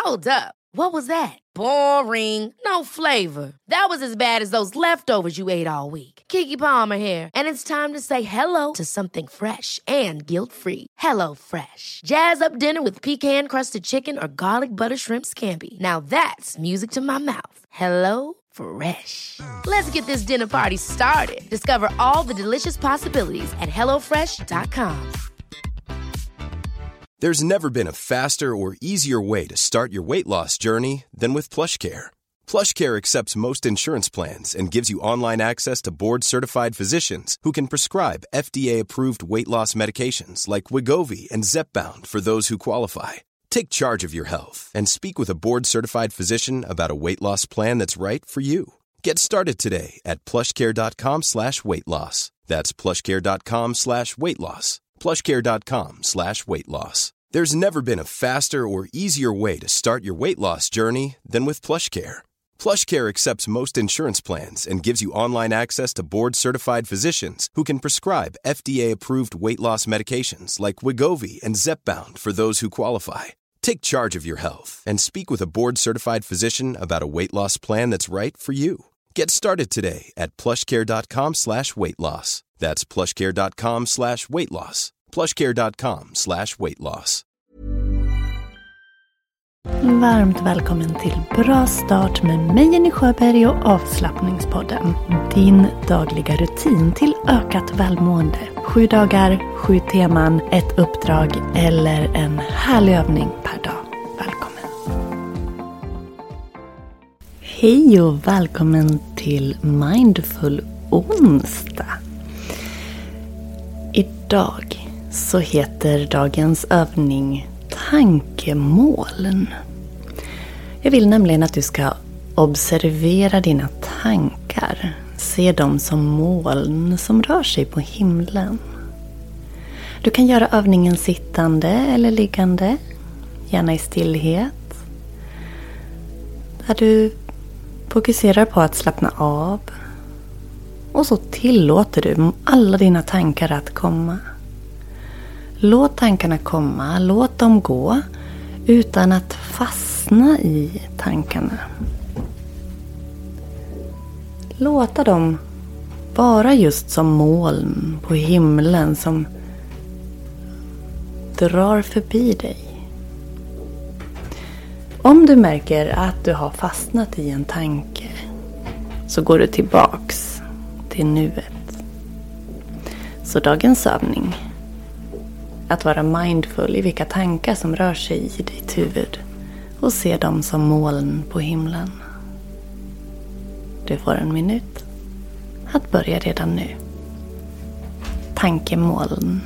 Hold up. What was that? Boring. No flavor. That was as bad as those leftovers you ate all week. Keke Palmer here, and it's time to say hello to something fresh and guilt-free. Hello Fresh. Jazz up dinner with pecan-crusted chicken or garlic butter shrimp scampi. Now that's music to my mouth. Hello Fresh. Let's get this dinner party started. Discover all the delicious possibilities at hellofresh.com. There's never been a faster or easier way to start your weight loss journey than with PlushCare. PlushCare accepts most insurance plans and gives you online access to board-certified physicians who can prescribe FDA-approved weight loss medications like Wegovy and Zepbound for those who qualify. Take charge of your health and speak with a board-certified physician about a weight loss plan that's right for you. Get started today at plushcare.com/weightloss. That's plushcare.com/weightloss. plushcare.com/weightloss. There's never been a faster or easier way to start your weight loss journey than with PlushCare. PlushCare accepts most insurance plans and gives you online access to board-certified physicians who can prescribe FDA-approved weight loss medications like Wegovy and Zepbound for those who qualify. Take charge of your health and speak with a board-certified physician about a weight loss plan that's right for you. Get started today at plushcare.com/weightloss. That's plushcare.com/weightloss. plushcare.com/weightloss. Varmt välkommen till Bra start med mig Jenny Sjöberg och Avslappningspodden. Din dagliga rutin till ökat välmående. 7 dagar, 7 teman, ett uppdrag eller en härlig övning per dag. Välkommen! Hej och välkommen till Mindful onsdag. Idag så heter dagens övning tankemoln. Jag vill nämligen att du ska observera dina tankar. Se dem som moln som rör sig på himlen. Du kan göra övningen sittande eller liggande. Gärna i stillhet. Där du fokuserar på att slappna av. Och så tillåter du alla dina tankar att komma. Låt tankarna komma, låt dem gå utan att fastna i tankarna. Låta dem vara just som moln på himlen som drar förbi dig. Om du märker att du har fastnat i en tanke så går du tillbaks till nuet. Så dagens övning, att vara mindful i vilka tankar som rör sig i ditt huvud och se dem som moln på himlen. Du får 1 minut att börja redan nu. Tankemoln.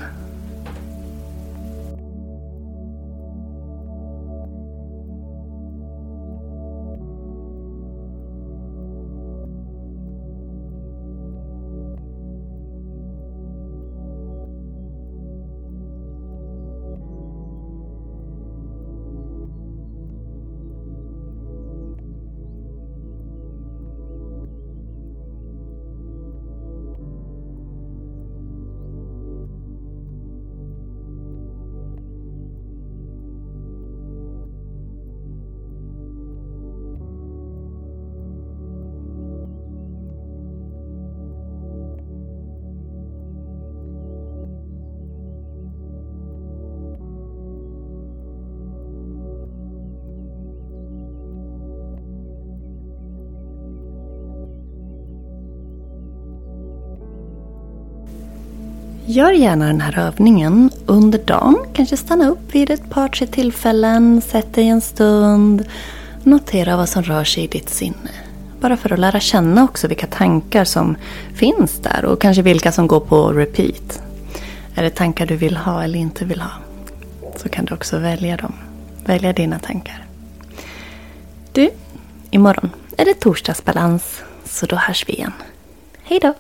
Gör gärna den här övningen under dagen. Kanske stanna upp vid ett par 3 tillfällen. Sätt dig en stund. Notera vad som rör sig i ditt sinne. Bara för att lära känna också vilka tankar som finns där. Och kanske vilka som går på repeat. Är det tankar du vill ha eller inte vill ha? Så kan du också välja dem. Välja dina tankar. Du, imorgon är det torsdagsbalans. Så då hörs vi igen. Hej då!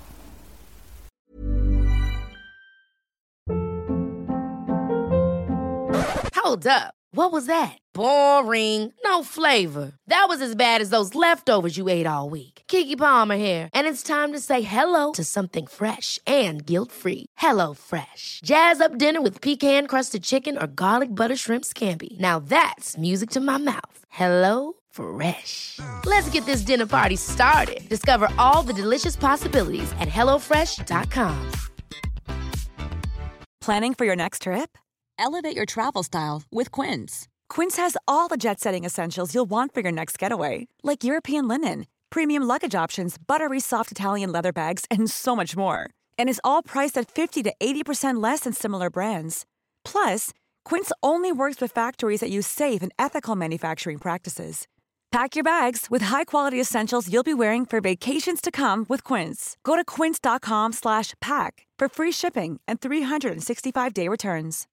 Hold up. What was that? Boring. No flavor. That was as bad as those leftovers you ate all week. Keke Palmer here, and it's time to say hello to something fresh and guilt-free. Hello Fresh. Jazz up dinner with pecan-crusted chicken or garlic butter shrimp scampi. Now that's music to my mouth. Hello Fresh. Let's get this dinner party started. Discover all the delicious possibilities at hellofresh.com. Planning for your next trip? Elevate your travel style with Quince. Quince has all the jet-setting essentials you'll want for your next getaway, like European linen, premium luggage options, buttery soft Italian leather bags, and so much more. And is all priced at 50 to 80% less than similar brands. Plus, Quince only works with factories that use safe and ethical manufacturing practices. Pack your bags with high-quality essentials you'll be wearing for vacations to come with Quince. Go to quince.com/pack for free shipping and 365-day returns.